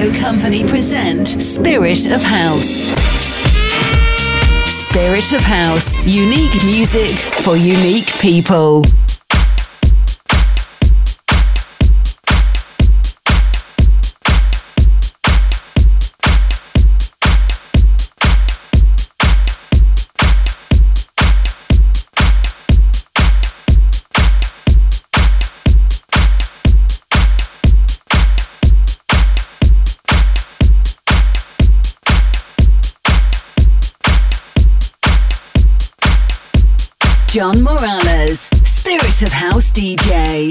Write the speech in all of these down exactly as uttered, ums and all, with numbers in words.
Radio Company present Spirit of House. Spirit of House. Unique music for unique people. John Morales, Spirit of House D J.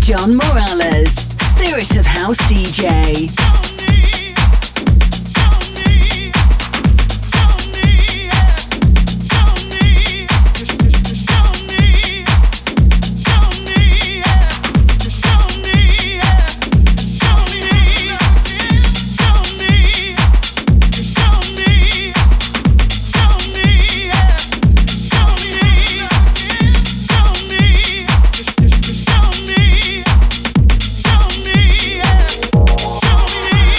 John Morales, Spirit of House D J. Show me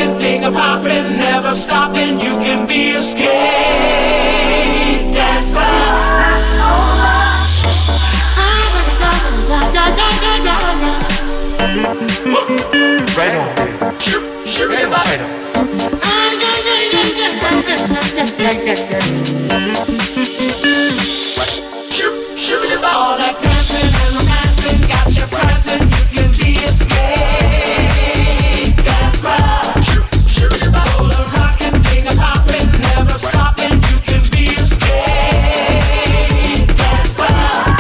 rockin' finger poppin', never stopping. You can be a skate dancer. Right on, baby. Shoot, shoot it up. Right on. Shoot, shoot it up. All that dancing and romancing got you prancing. You can be a skate dancer. Shoot, shoot it up. All the rockin', finger poppin', never stopping. You can be a skate dancer.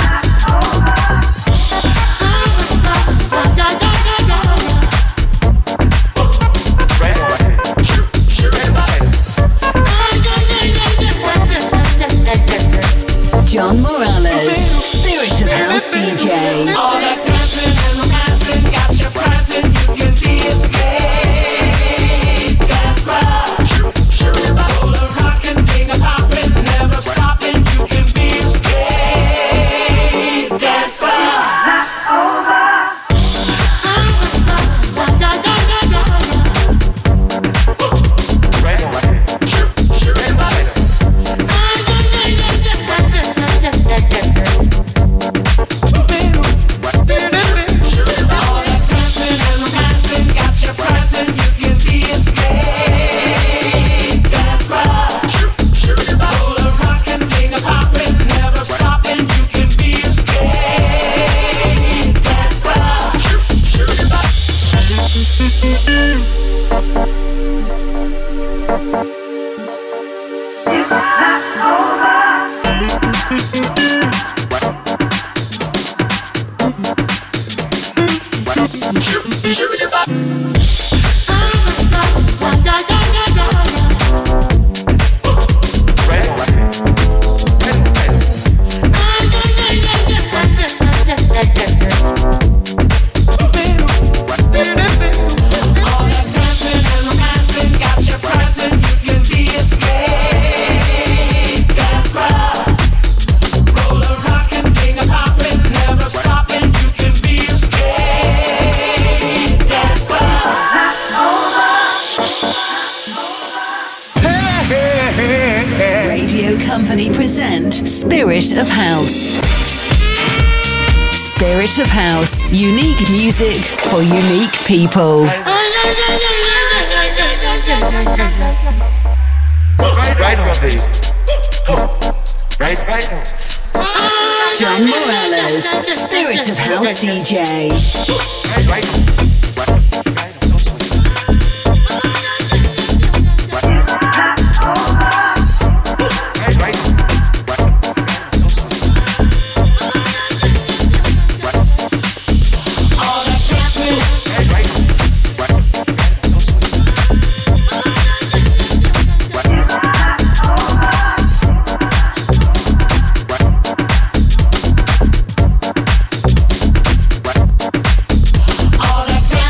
John Morales, Spirit of House D J. All that dancing and romancing got you prancing. You can be a skate dancer. Shoot, shoot it up. All the rockin', finger poppin', never stopping. You can be a skate dancer. Spirit of House. Spirit of House. Unique music for unique people. Right, right on, baby. Right, right on. John Morales, Spirit of House D J. Right, right on. All that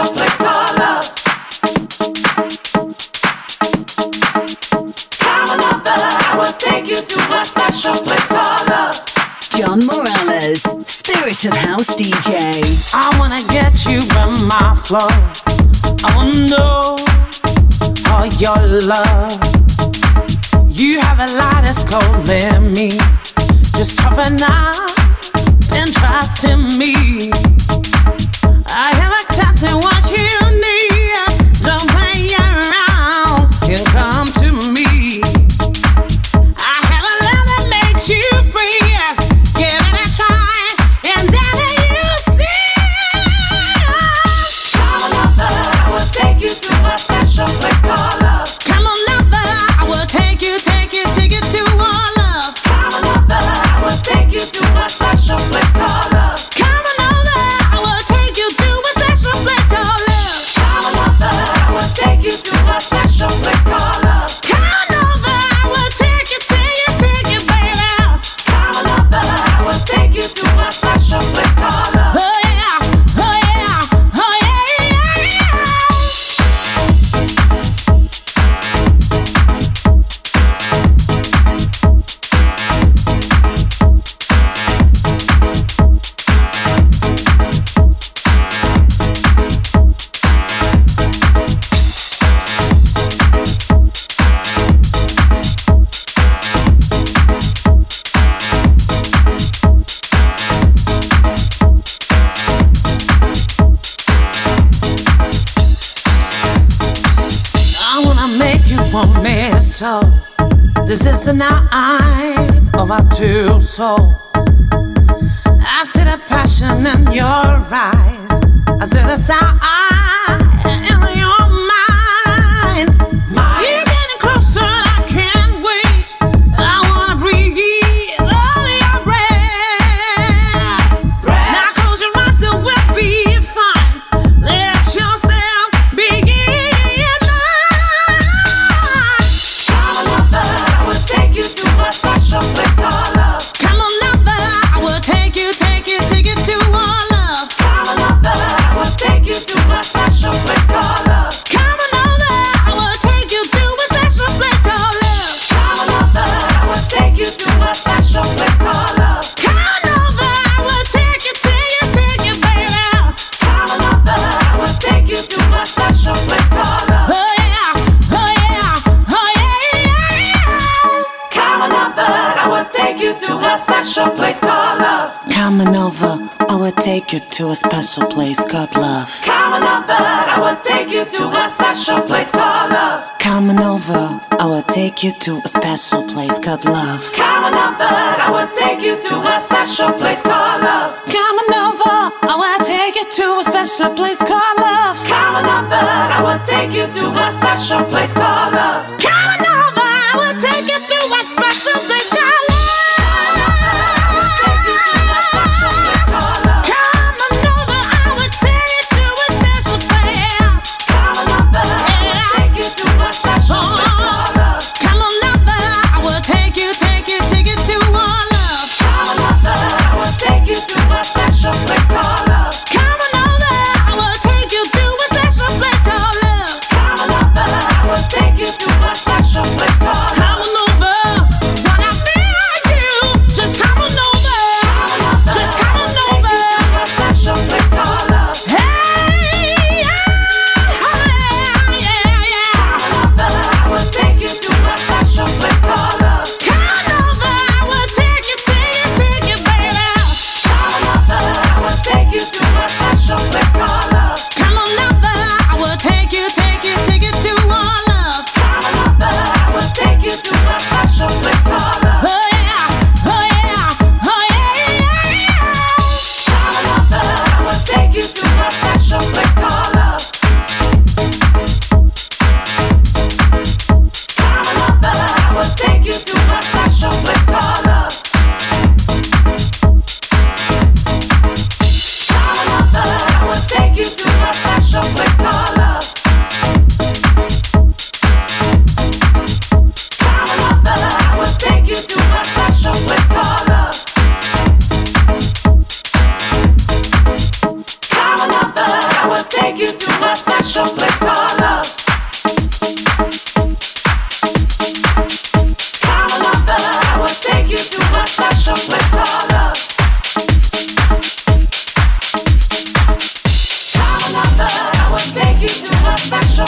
special place called love. Come on over, I will take you to a special place called love. John Morales, Spirit of House D J. I wanna get you in my flow. I wanna know all your love. You have a light that's calling me. Just open up and trust in me. I have exactly what you need. Don't play around and come to me. I have a love that makes you free. Give it a try and then you see. Come on over, I will take you to a special place called love. Come on over, I will take you, take you, take you to our love. Come on over, I will take you to a special place called love. Come on over, I will take you to a special place called love. Come on over, I will take you to a special place called love. Come on over, I will take you, take you, take you, baby. Come on over, I will take you to a special place called love. Oh yeah, oh yeah, oh yeah, yeah, yeah. I wanna make you want me so. This is the night of our two souls. I see the passion in your eyes. I see the sound in your mind. You're getting closer, I can't wait. I wanna breathe all your breath. Now close your eyes, it will be fine. Let yourself begin. Come on over, I will take you to a special place called love. Come on over, I will take you, take you, take you to our love. Come on over, I will take you to a special place called love. Come on over, I will take you to a special place called love. Come on over, I will take you to a special place called love. Come on over, I will take you, take you, take you, baby. Come on over, I will take you to a special place called love. Oh yeah, oh yeah, oh yeah, yeah, yeah. Come on over, I will take you to a special place called love. Coming over, I will take you to a special place called love. Come on over, I will take you to a special place called love. Coming over, I will take you to a special place called love. Come on over, I will take you to a special place called love. Coming over, I will take you to a special place called love. Come on over, I will take you to a special place called love. Come on over, I will take you to a special place called love. Special place called love. Come on over, wanna be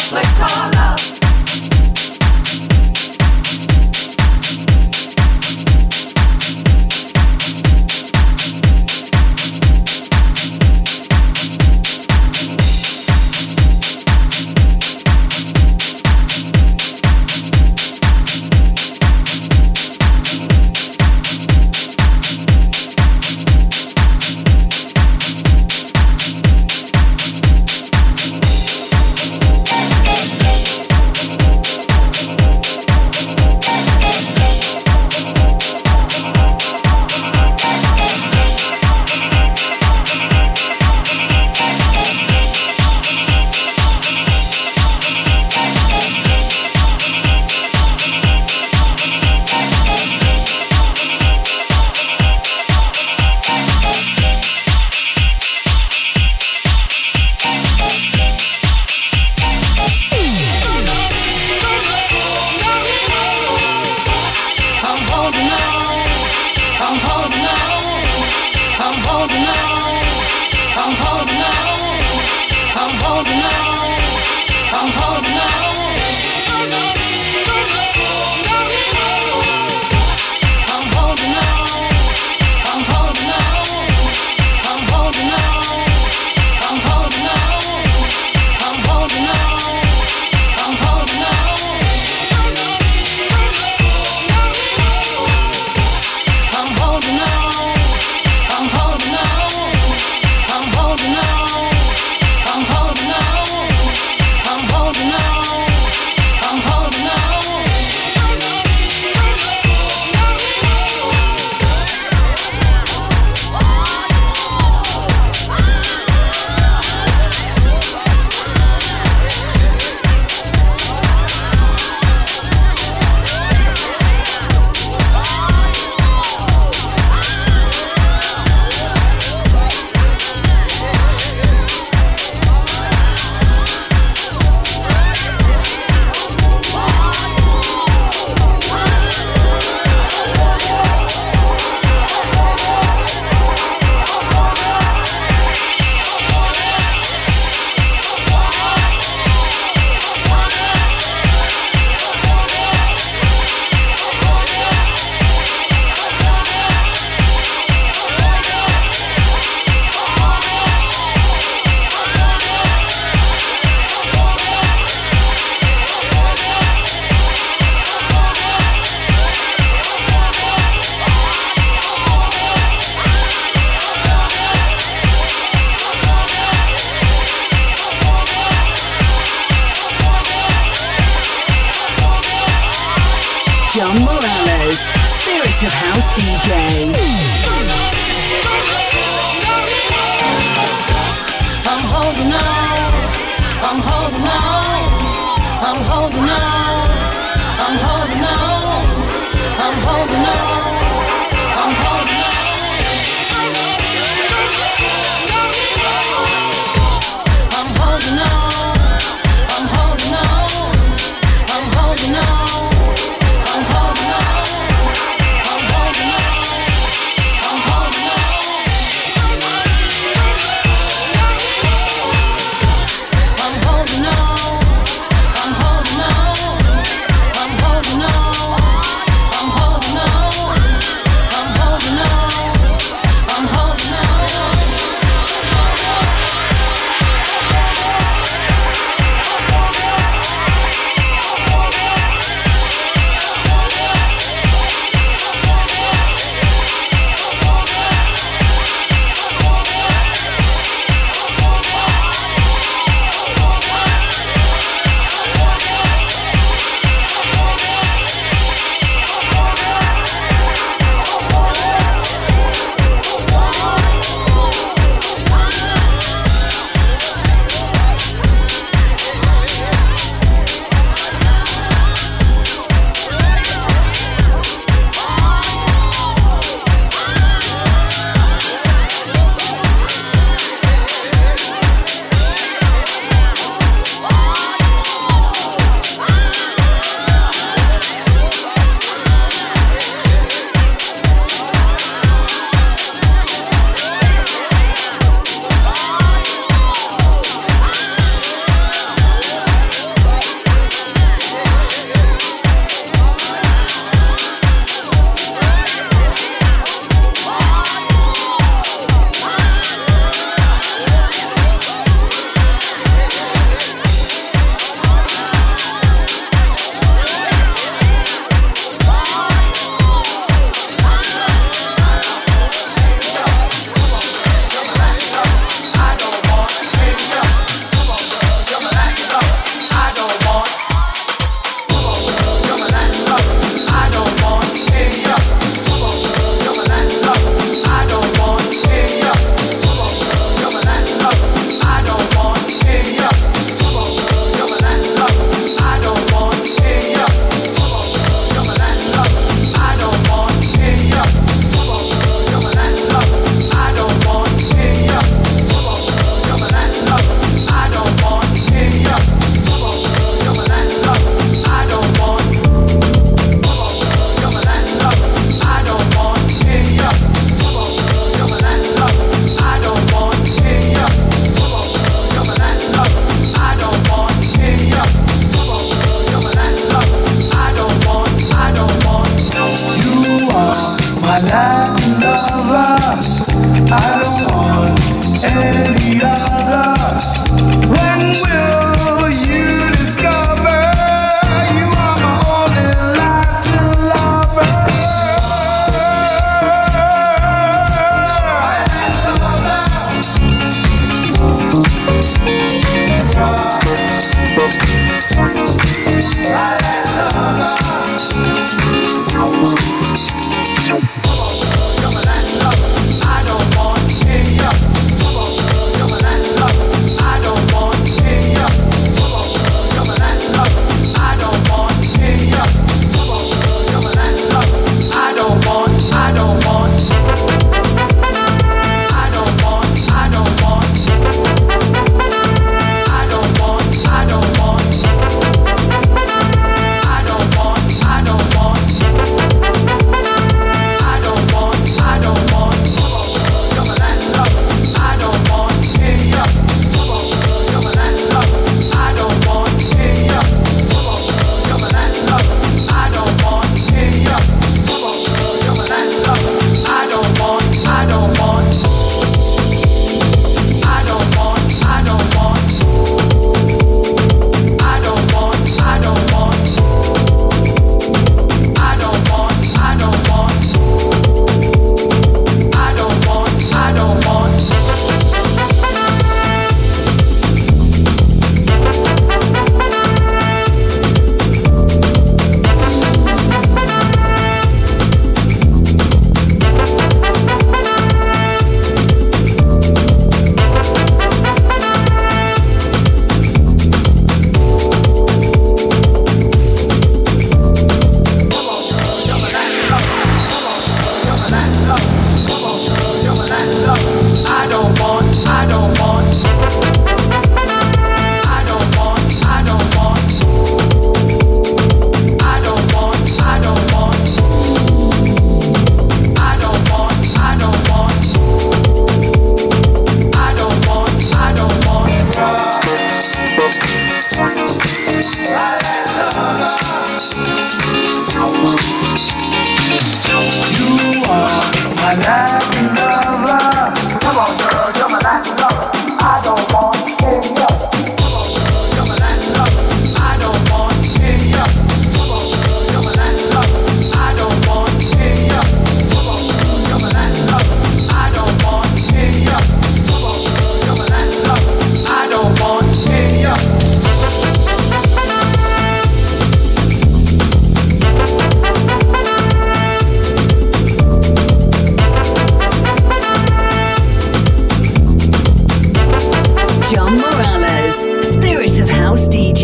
place called love. John Morales, Spirit of House D J. I'm holding on, I'm holding on, I'm holding on, I'm holding on, I'm holding on, I'm holding on. I'm holding on, I'm holding on, I'm holding on. I'm holding on, I'm holding on, I'm holding on. I'm holding on, I'm holding on,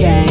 J.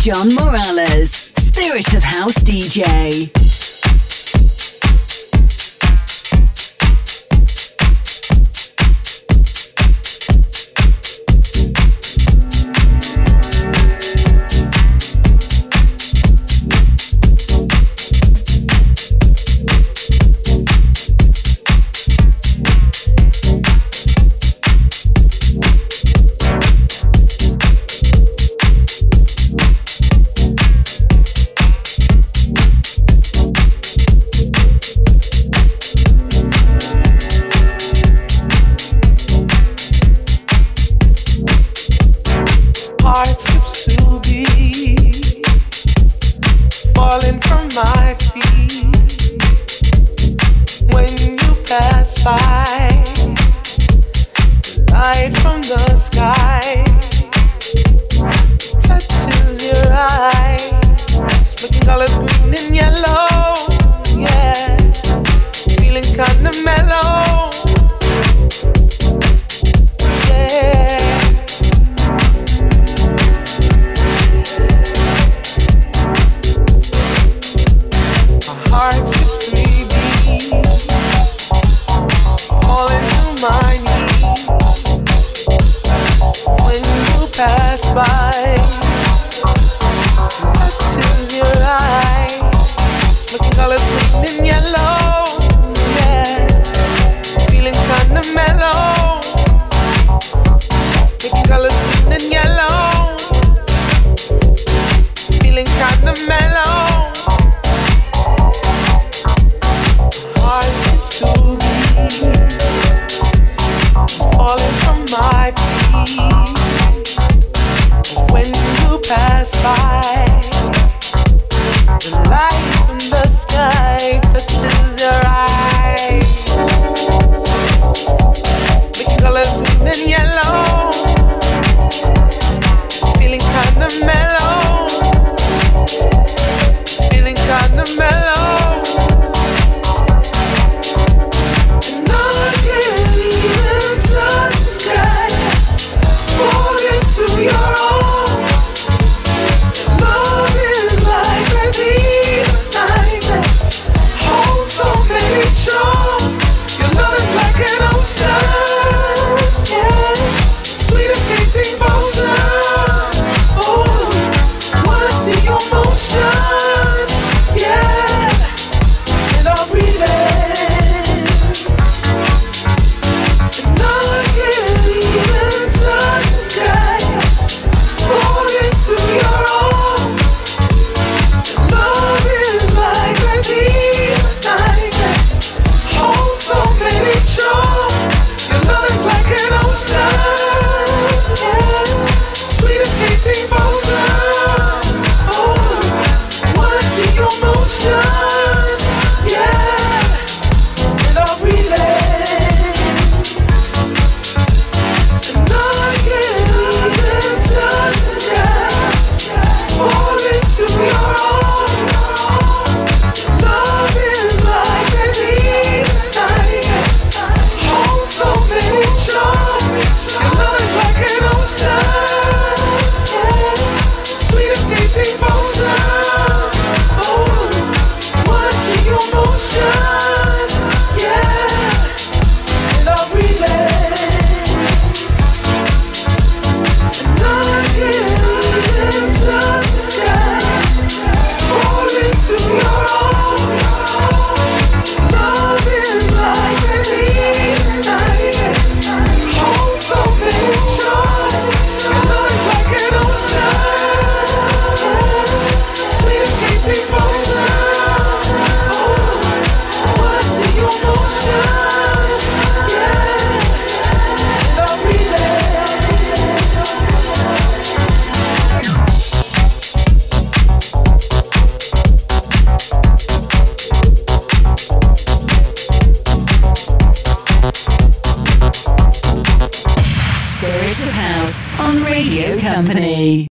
John Morales, Spirit of House D J. Spirit of House on Radio Company.